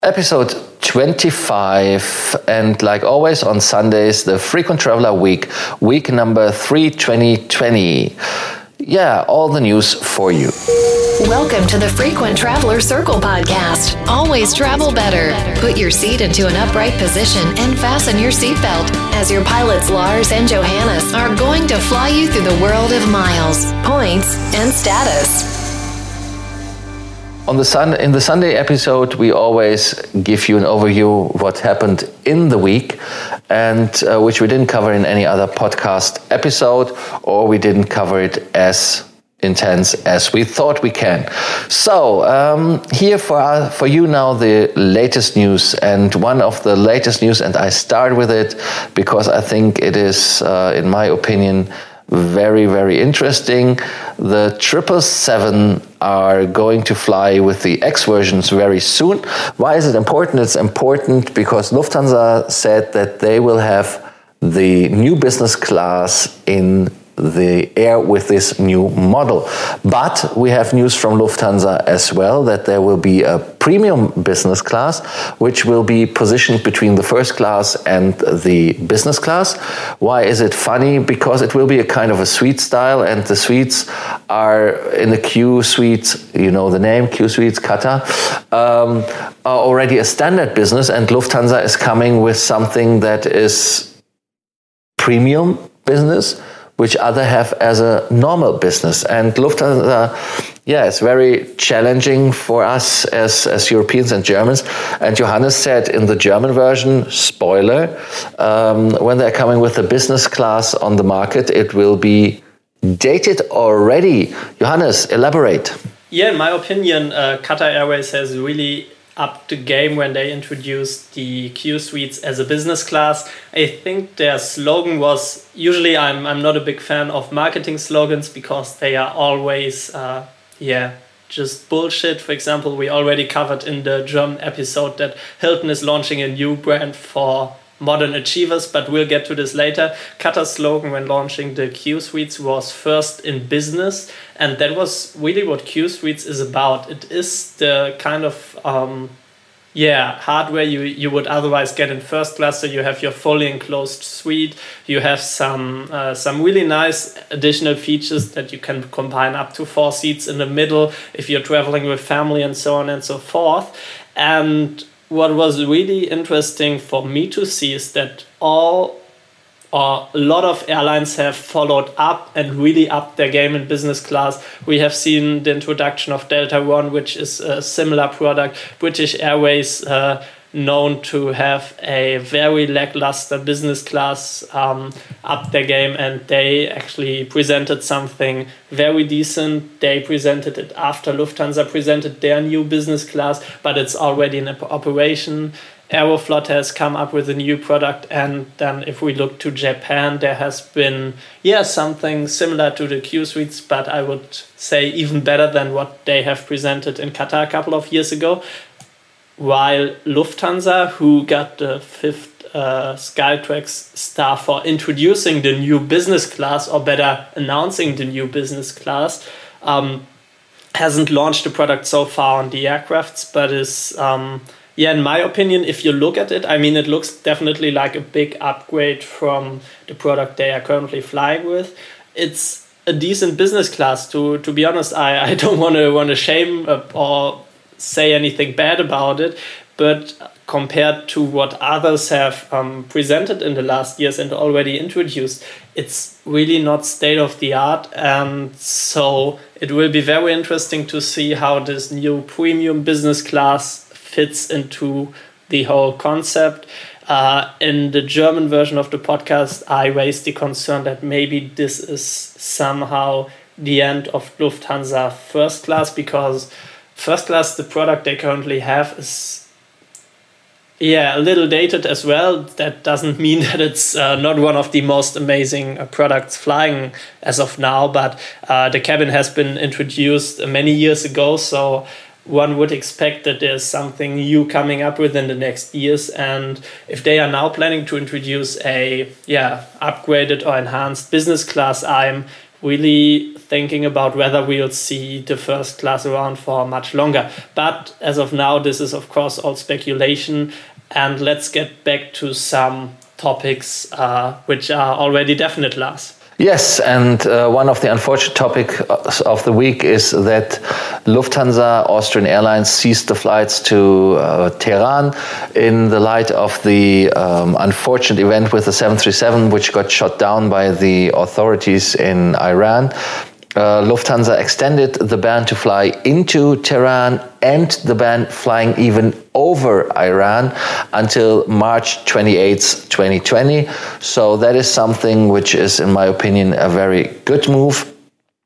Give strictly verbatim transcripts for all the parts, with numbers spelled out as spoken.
Episode twenty-five, and like always on Sundays, the Frequent Traveler Week, week number three twenty twenty. Yeah, all the news for you. Welcome to the Frequent Traveler Circle podcast. Always travel better. Put your seat into an upright position and fasten your seatbelt as your pilots Lars and Johannes are going to fly you through the world of miles, points, and status. On the sun, in the Sunday episode, we always give you an overview of what happened in the week, and uh, which we didn't cover in any other podcast episode, or we didn't cover it as intense as we thought we can. So um, here for uh, for you now the latest news, and one of the latest news, and I start with it because I think it is, uh, in my opinion, very, very interesting. The triple seven are going to fly with the X versions very soon. Why is it important? It's important because Lufthansa said that they will have the new business class in the air with this new model. But we have news from Lufthansa as well that there will be a premium business class which will be positioned between the first class and the business class. Why is it funny? Because it will be a kind of a suite style, and the suites are in the Q suites, you know the name, Q suites, Qatar, um, are already a standard business, and Lufthansa is coming with something that is premium business, which other have as a normal business. And Lufthansa, yeah, it's very challenging for us as, as Europeans and Germans. And Johannes said in the German version, spoiler, um, when they're coming with the business class on the market, it will be dated already. Johannes, elaborate. Yeah, in my opinion, uh, Qatar Airways has really up the game when they introduced the Q suites as a business class. I think their slogan was, usually I'm I'm not a big fan of marketing slogans because they are always uh, yeah just bullshit. For example, we already covered in the German episode that Hilton is launching a new brand for modern achievers, but we'll get to this later. Qatar's slogan when launching the Q suites was first in business, and that was really what Q suites is about. It is the kind of um, yeah hardware you you would otherwise get in first class. So you have your fully enclosed suite, you have some uh, some really nice additional features that you can combine up to four seats in the middle if you're traveling with family and so on and so forth. And what was really interesting for me to see is that all or a lot of airlines have followed up and really upped their game in business class. We have seen the introduction of Delta One, which is a similar product. British Airways, uh, known to have a very lackluster business class, um, upped their game, and they actually presented something very decent. They presented it after Lufthansa presented their new business class, but it's already in operation. Aeroflot has come up with a new product, and then if we look to Japan, there has been yeah something similar to the Q suites, but I would say even better than what they have presented in Qatar a couple of years ago. While Lufthansa, who got the fifth uh, Skytrax star for introducing the new business class, or better, announcing the new business class, um, hasn't launched the product so far on the aircrafts, but is, um, yeah, in my opinion, if you look at it, I mean, it looks definitely like a big upgrade from the product they are currently flying with. It's a decent business class. To to be honest, I, I don't want to want to shame uh, or say anything bad about it, but compared to what others have um, presented in the last years and already introduced, it's really not state of the art. And so it will be very interesting to see how this new premium business class fits into the whole concept. Uh, in the German version of the podcast, I raised the concern that maybe this is somehow the end of Lufthansa first class, because first class, the product they currently have, is yeah a little dated as well. That doesn't mean that it's uh, not one of the most amazing uh, products flying as of now, but uh, the cabin has been introduced many years ago, so one would expect that there's something new coming up within the next years. And if they are now planning to introduce a yeah upgraded or enhanced business class, I'm really thinking about whether we'll see the first class around for much longer. But as of now, this is of course all speculation. And let's get back to some topics uh, which are already definite, Lars. Yes, and uh, one of the unfortunate topics of the week is that Lufthansa, Austrian Airlines, ceased the flights to uh, Tehran in the light of the um, unfortunate event with the seven thirty-seven, which got shot down by the authorities in Iran. Uh, Lufthansa extended the ban to fly into Tehran and the ban flying even over Iran until March twenty-eighth, twenty twenty. So that is something which is, in my opinion, a very good move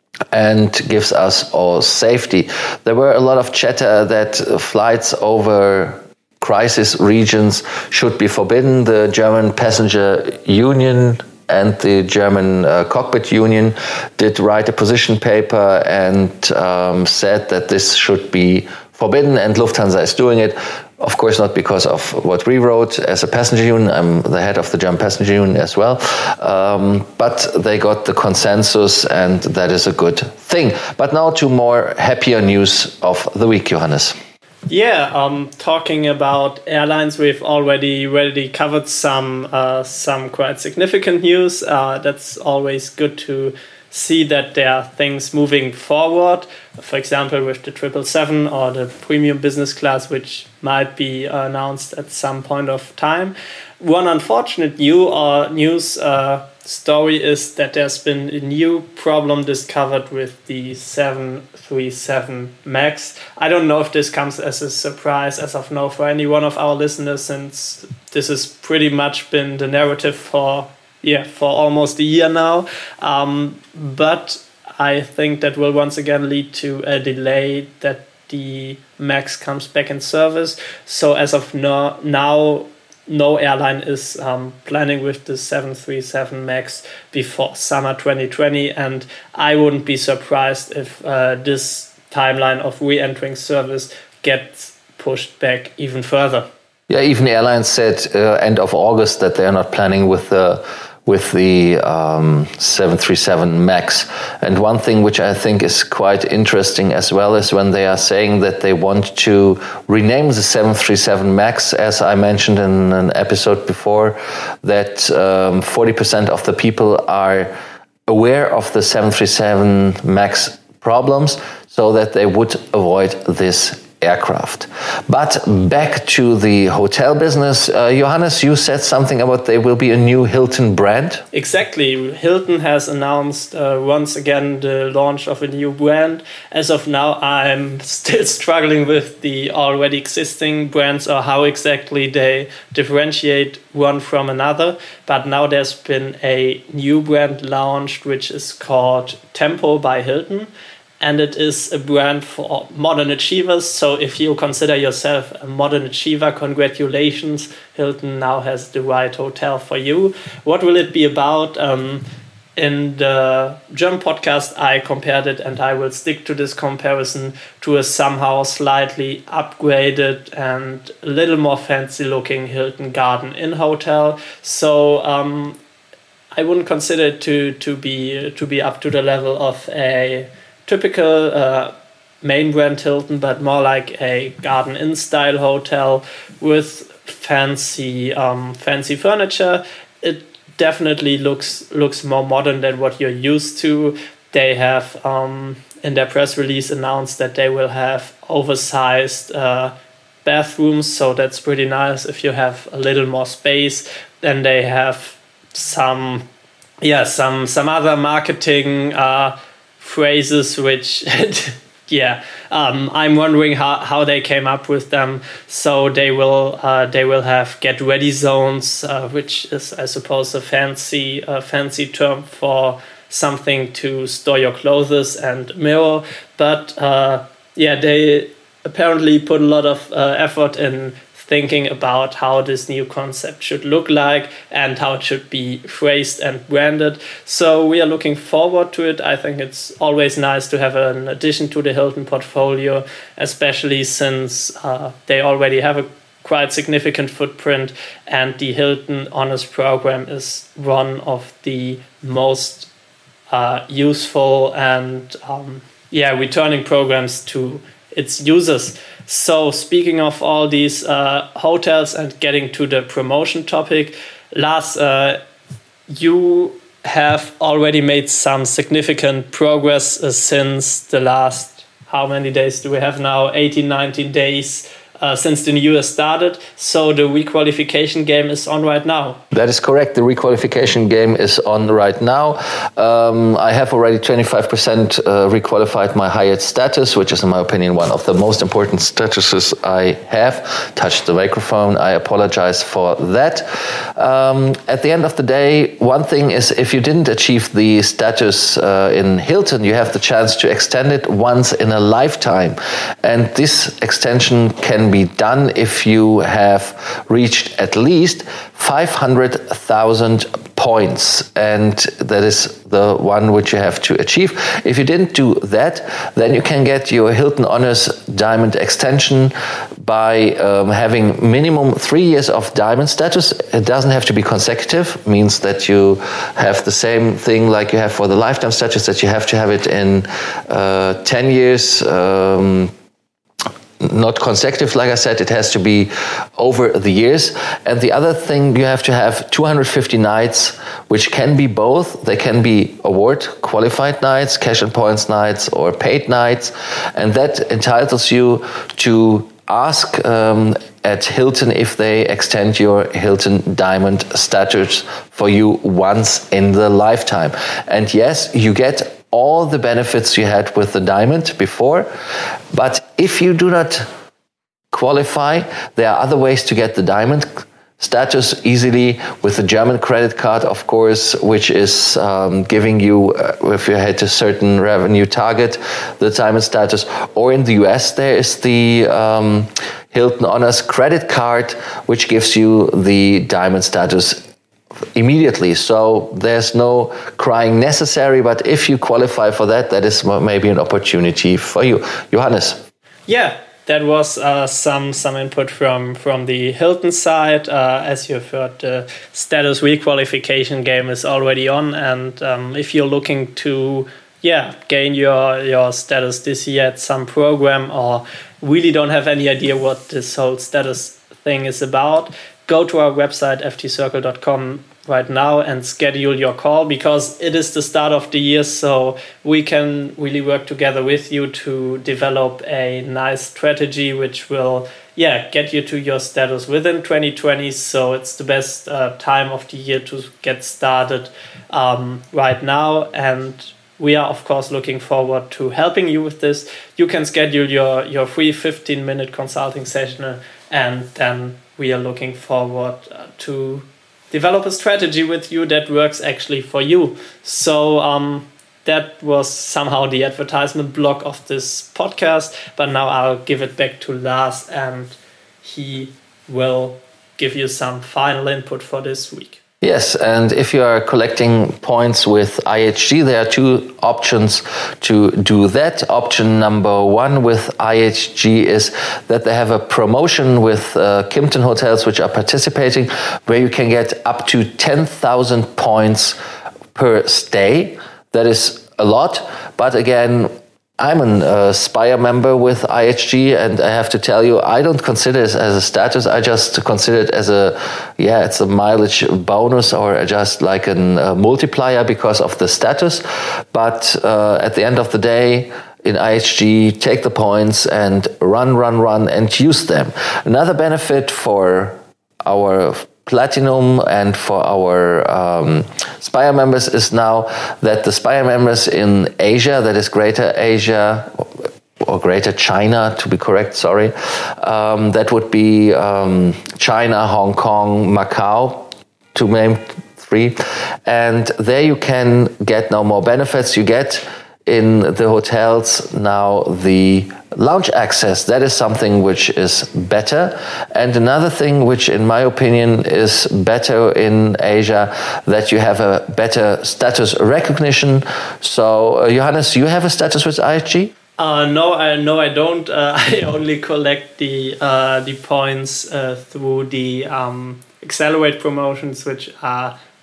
and gives us all safety. There were a lot of chatter that flights over crisis regions should be forbidden. The German Passenger Union and the German uh, Cockpit Union did write a position paper and um, said that this should be forbidden, and Lufthansa is doing it. Of course, not because of what we wrote as a passenger union. I'm the head of the German Passenger Union as well. Um, but they got the consensus, and that is a good thing. But now to more happier news of the week, Johannes. Yeah, um, talking about airlines, we've already already covered some uh, some quite significant news. Uh, that's always good to see that there are things moving forward. For example, with the triple seven or the premium business class, which might be announced at some point of time. One unfortunate new or news uh, story is that there's been a new problem discovered with the seven thirty-seven MAX. I don't know if this comes as a surprise as of now for any one of our listeners, since this has pretty much been the narrative for yeah for almost a year now. Um, but I think that will once again lead to a delay that the MAX comes back in service. So as of no, now, no airline is um, planning with the seven thirty-seven MAX before summer twenty twenty, and I wouldn't be surprised if uh, this timeline of re-entering service gets pushed back even further. Yeah, even airlines said uh, end of August that they are not planning with the with the um, seven thirty-seven MAX. And one thing which I think is quite interesting as well is when they are saying that they want to rename the seven thirty-seven MAX, as I mentioned in an episode before, that um, forty percent of the people are aware of the seven thirty-seven MAX problems, so that they would avoid this aircraft. But back to the hotel business. Uh, Johannes, you said something about there will be a new Hilton brand. Exactly. Hilton has announced uh, once again the launch of a new brand. As of now, I'm still struggling with the already existing brands or how exactly they differentiate one from another. But now there's been a new brand launched, which is called Tempo by Hilton. And it is a brand for modern achievers. So if you consider yourself a modern achiever, congratulations, Hilton now has the right hotel for you. What will it be about? Um, in the German podcast, I compared it, and I will stick to this comparison, to a somehow slightly upgraded and a little more fancy looking Hilton Garden Inn hotel. So um, I wouldn't consider it to, to, be, to be up to the level of a typical uh, main brand Hilton, but more like a Garden Inn style hotel with fancy um, fancy furniture. It definitely looks looks more modern than what you're used to. They have um, in their press release announced that they will have oversized uh, bathrooms, so that's pretty nice if you have a little more space. Then they have some yeah some some other marketing uh, phrases which yeah um I'm wondering how how they came up with them. So they will uh they will have get ready zones, uh, which is, I suppose, a fancy uh, fancy term for something to store your clothes and mirror. But uh yeah they apparently put a lot of uh, effort in thinking about how this new concept should look like and how it should be phrased and branded. So we are looking forward to it. I think it's always nice to have an addition to the Hilton portfolio, especially since uh, they already have a quite significant footprint, and the Hilton Honors program is one of the most uh, useful and um, yeah, returning programs to its users. So speaking of all these uh, hotels and getting to the promotion topic, Lars, uh, you have already made some significant progress uh, since the last, how many days do we have now? eighteen, nineteen days uh, since the new year started. So the requalification game is on right now. That is correct. The requalification game is on right now. Um, I have already twenty-five percent uh, requalified my Hyatt status, which is, in my opinion, one of the most important statuses I have. Touched the microphone. I apologize for that. Um, at the end of the day, one thing is, if you didn't achieve the status uh, in Hilton, you have the chance to extend it once in a lifetime. And this extension can be done if you have reached at least five hundred thousand points, and that is the one which you have to achieve. If you didn't do that, then you can get your Hilton Honors Diamond extension by um, having minimum three years of Diamond status. It doesn't have to be consecutive, means that you have the same thing like you have for the lifetime status, that you have to have it in uh, ten years. Um, Not consecutive, like I said, it has to be over the years. And the other thing, you have to have two hundred fifty nights, which can be both. They can be award qualified nights, cash and points nights, or paid nights. And that entitles you to ask um, at Hilton if they extend your Hilton Diamond status for you once in the lifetime. And yes, you get all the benefits you had with the Diamond before, but if you do not qualify, there are other ways to get the Diamond status easily, with the German credit card, of course, which is um, giving you, uh, if you hit a certain revenue target, the Diamond status. Or in the U S, there is the um, Hilton Honors credit card, which gives you the Diamond status immediately. So there's no crying necessary, but if you qualify for that, that is maybe an opportunity for you. Johannes. Yeah, that was uh, some some input from, from the Hilton side. Uh, as you've heard, the status requalification game is already on, and um, if you're looking to yeah gain your, your status this year at some program, or really don't have any idea what this whole status thing is about, go to our website f t circle dot com right now and schedule your call, because it is the start of the year, so we can really work together with you to develop a nice strategy which will yeah get you to your status within twenty twenty. So it's the best uh, time of the year to get started um, right now, and we are of course looking forward to helping you with this. You can schedule your your free fifteen minute consulting session, and then we are looking forward uh, to develop a strategy with you that works actually for you. So um, that was somehow the advertisement block of this podcast, but now I'll give it back to Lars, and he will give you some final input for this week. Yes, and if you are collecting points with I H G, there are two options to do that. Option number one with I H G is that they have a promotion with uh, Kimpton hotels which are participating, where you can get up to ten thousand points per stay. That is a lot, but again, I'm an uh, Spire member with I H G, and I have to tell you, I don't consider it as a status. I just consider it as a, yeah, it's a mileage bonus, or just like a uh, multiplier because of the status. But uh, at the end of the day, in I H G, take the points and run, run, run, and use them. Another benefit for our Platinum and for our um, Spire members is now that the Spire members in Asia, that is Greater Asia, or Greater China to be correct, sorry, um, that would be um, China, Hong Kong, Macau, to name three, and there you can get now more benefits. You get in the hotels now the lounge access. That is something which is better. And another thing which in my opinion is better in Asia, that you have a better status recognition. So uh, Johannes, you have a status with I H G? Uh, no, I no, I don't. Uh, I only collect the uh, the points uh, through the um, Accelerate promotions, which are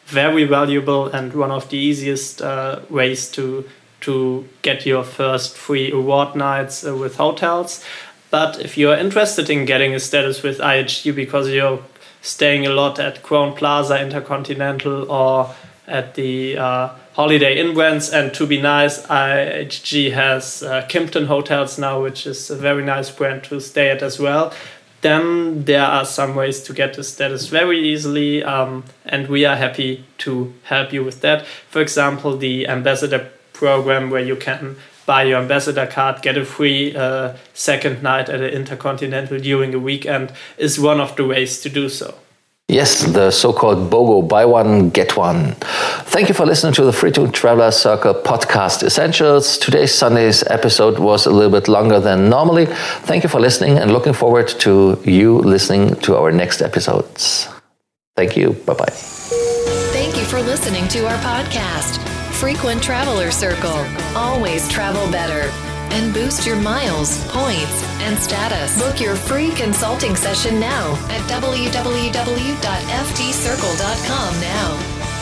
very valuable and one of the easiest uh, ways to to get your first free award nights uh, with hotels. But if you're interested in getting a status with I H G because you're staying a lot at Crowne Plaza, Intercontinental, or at the uh, Holiday Inn brands, and to be nice, I H G has uh, Kimpton Hotels now, which is a very nice brand to stay at as well, then there are some ways to get the status very easily, um, and we are happy to help you with that. For example, the Ambassador program, where you can buy your ambassador card, get a free uh, second night at an Intercontinental during a weekend, is one of the ways to do so. Yes, the so-called BOGO, buy one, get one. Thank you for listening to the Frequent Traveler Circle podcast essentials. Today's Sunday's episode was a little bit longer than normally. Thank you for listening and looking forward to you listening to our next episodes. Thank you. Bye-bye. Thank you for listening to our podcast, Frequent Traveler Circle. Always travel better. And boost your miles, points, and status. Book your free consulting session now at w w w dot f t circle dot com now.